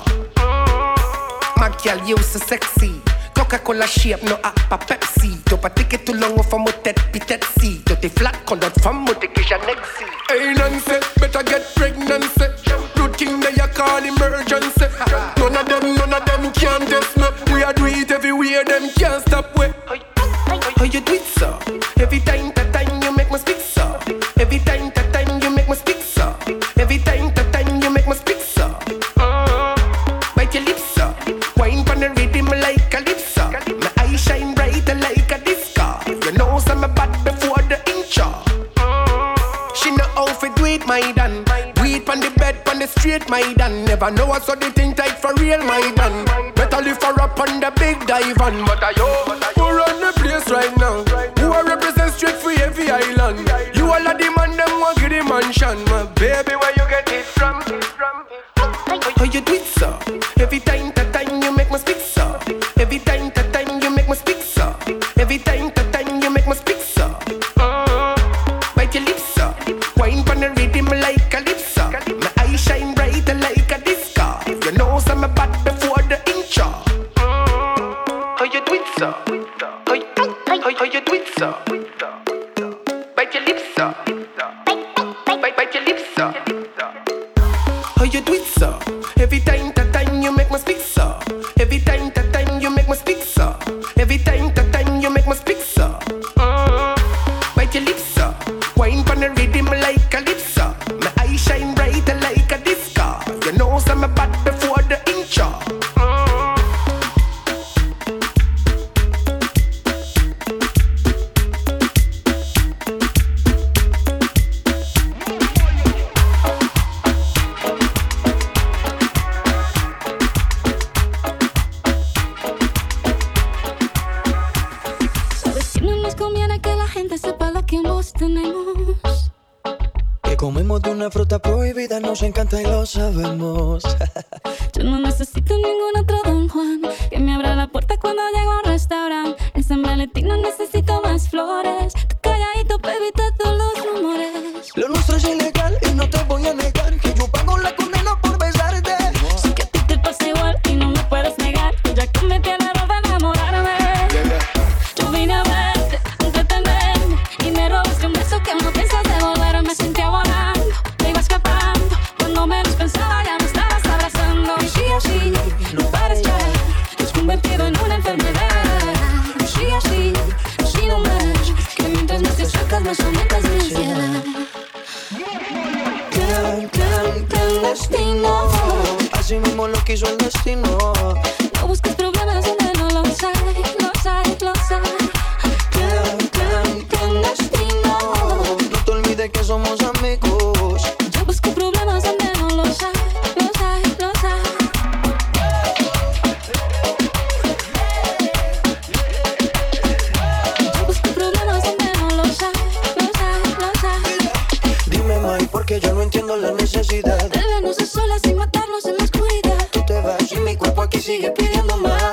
My girl, you so sexy. Coca-Cola shape, no appa Pepsi. T'as pas tiqué tout long au femme au tête pitette si. T'as tes flat quand d'autres femmes au tiqué Janexi. Hey Nancy, better get pregnancy. Routine that you call emergency. None of them can test me. We a do it everywhere, them can't stop we. How you do it, sir? Every time that time you make me speak, sir. Every time that time you make me speak, sir. Every time that time you make me speak, sir. Bite your lips, sir. Wine pon the rhythm like calypso. My eyes shine bright like a disco. You know some bad before the intro. She know how to do it, my dan. Do it pon the bed, pon the street, my dan. Never know what's so the thing tight for real, my dan. Better lift her up on the big dive on. But I who run the place right now? Who I represent straight for every island? You all of the man, them want get the mansion. My baby, where you get it from? How you do it, sir? Every time that time you make me speak, sir. Every time that time you make me speak, sir. Every time that time you make me speak, sir. Bite your lips, sir. Wine pon the rhythm like calypso. My eyes shine bright like a disco. You know some bad before the intro. How you do it, sir? How you do it, sir? Bite your lips, sir. Bite your lips, sir. How you do it, sir? Every time that time you make me speak, sir. Every time that time you make me speak, sir. Every time that time you make me speak, sir. Bite your lips, sir. Wine pon the rhythm like calypso. My eyes shine bright like a disco. You know some bad before the intro. Que comemos de una fruta prohibida, nos encanta y lo sabemos. Yo no necesito ningún otro Don Juan que me abra la puerta cuando llego a un restaurante. En San Valentín no necesito más flores. Tú calladito, baby, todos los rumores. Lo nuestro es ilegal y no te voy a negar que yo pago la condena por besarte. Sé que a ti te pasa igual y no me puedes negar. Ya cometí el error de enamorarme. Yo vine a verte, a entretenerme y me robaste un beso que no piensas devolver. Me sentía volando, me iba escapando. Cuando menos pensaba ya me estabas abrazando. Y así, no pares ya, te has convertido en una enfermedad. Y así no más, que mientras más te acercas más aumentas mi ansiedad. Clandestino, así mismo lo quiso el destino. No busques problemas donde no los hay, los hay, los hay. Clandestino, no te olvides que somos amigos. Yo busco problemas donde no los hay, los hay, los hay. Yo busco problemas donde no los hay, los hay, los hay. Dime, May, porque yo no entiendo la necesidad de vernos a solas sin matarnos en la oscuridad. Tú te vas y mi cuerpo aquí sigue pidiendo más.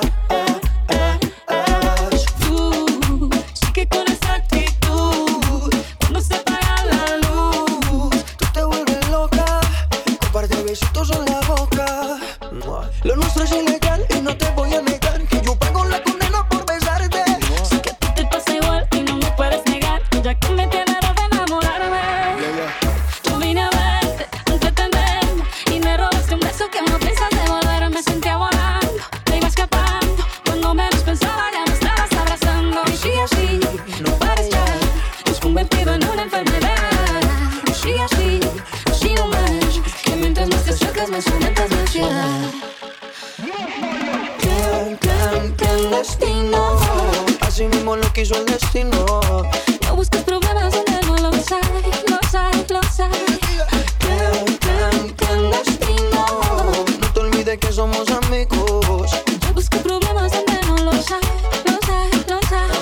Sí que con esa actitud, cuando se apaga la luz, tú te vuelves loca, un par de besitos en la boca. Lo nuestro es ilegal y no te voy a negar que yo pago la condena por besarte. Sé que a ti te pasa igual y no me puedes negar. Ya cometí el error de enamorarme. Yo vine a verte, a entretenerme y me robaste un beso que no piensas devolver. Me sentía volando, me iba escapando. Cuando menos pensaba ya me estabas abrazando. Y así, no pares ya, te has convertido en una enfermedad. Y así no más, que mientras más te acercas más aumentas la ansiedad. clandestino. Así mismo lo quiso el destino. No busques problemas donde no los hay, los hay, los hay. Clandestino. No te olvides que somos amigos. No busques problemas donde no los hay, los hay, los hay.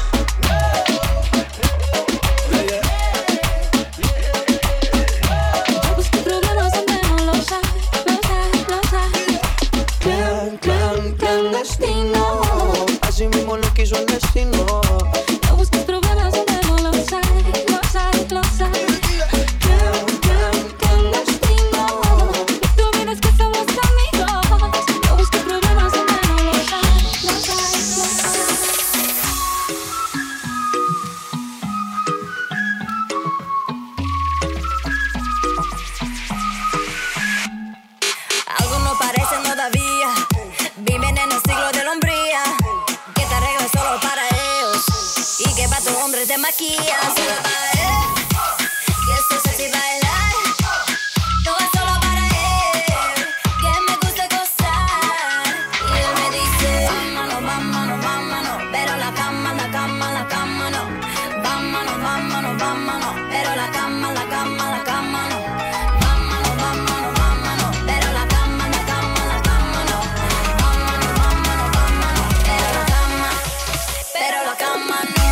No busques problemas donde no los hay, los hay, los hay. Clandestino. Así mismo lo quiso el destino. No busques problemas donde no los hay, los hay, los hay. Clandestino. Tú vienes que somos amigos. No busques problemas donde no los hay, los hay, los hay. Algo no parece todavía. Viven en el siglo de la hombría. Que te arreglas solo para ellos. Y que para tu hombre te maquillas. Solo para él. Que esto es así bailar. No es solo para él. Que me gusta gozar. Y él me dice: vámonos, vámonos, vámonos. Pero la cama, la cama, la cama no. Vámonos, vámonos, vámonos. Pero la cama, la cama, la cama no. Vámonos, vámonos, vámonos. Pero la cama, la cama, la cama no. Vámonos, vámonos, vámonos. Pero la cama no.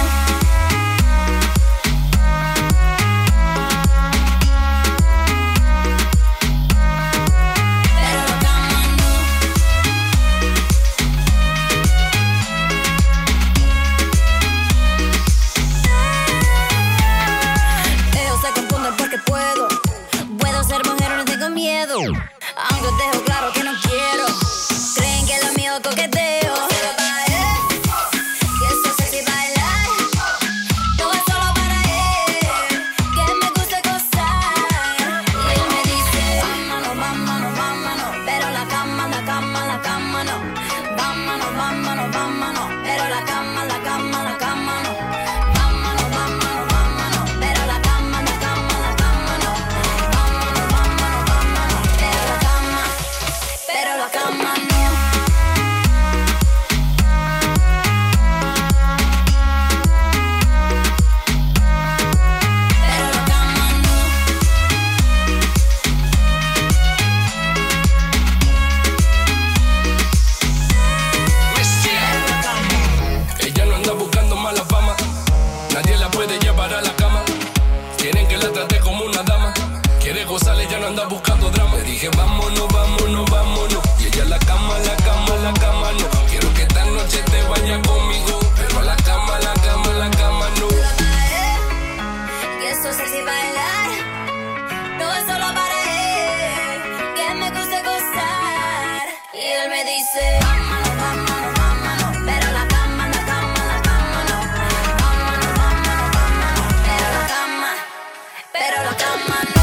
Ellos se confunden porque puedo ser mujer, no tengo miedo. Aunque os dejo claro que no quiero. Creen que lo mío es coqueteo. Pero para él, que esto es así bailar. No es solo para él, que me gusta gozar. Y él me dice: vámonos, vámonos, vámonos. Pero la cama, la cama, la cama no. Vámonos, vámonos, vámonos. Pero la cama, la cama, la cama no. Vámonos, vámonos, vámonos. Pero la cama, la cama, la cama no. Vámonos, vámonos, vámonos. Pero la cama no. Ella no anda buscando mala fama, nadie la puede llevar a la cama. Quieren que la trate como una dama. Quiere gozar, ella no anda buscando drama. Le dije vámonos, vámonos, vámonos. Y ella la cama, la cama, la cama no. Quiero que esta noche te vaya conmigo, pero a la cama, la cama, la cama no. Que esto es así bailar. No es solo para él, que me gusta gozar. Y él me dice: vámonos, vámonos, vámonos. Pero la cama, la cama, la cama no. Vámonos, vámonos, vámonos. Pero la cama no.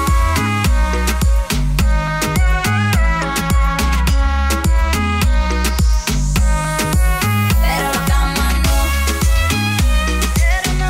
Pero la cama no. Pero no.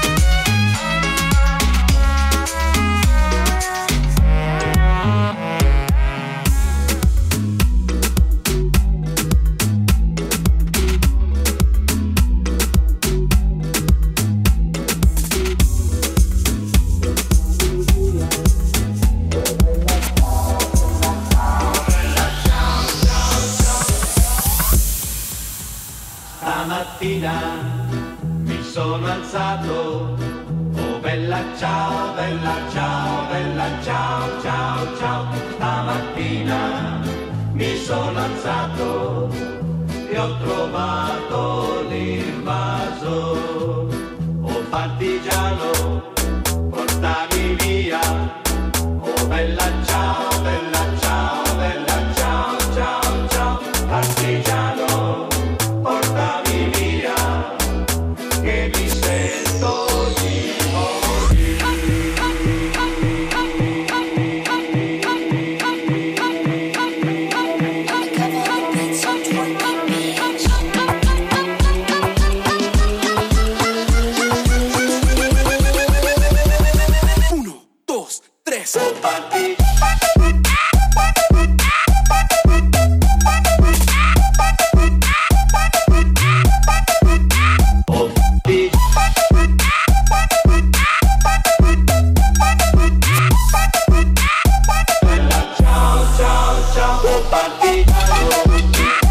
Stamattina mi sono alzato, oh bella ciao, bella ciao, bella ciao, ciao, ciao. Stamattina mi sono alzato e ho trovato l'invaso. Oh partigiano, portami via, oh bella ciao, bella ciao, bella ciao, ciao, ciao. Partigiano, portami via, che mi sento di Uno, dos, tres. Oh partigiano. Compartir.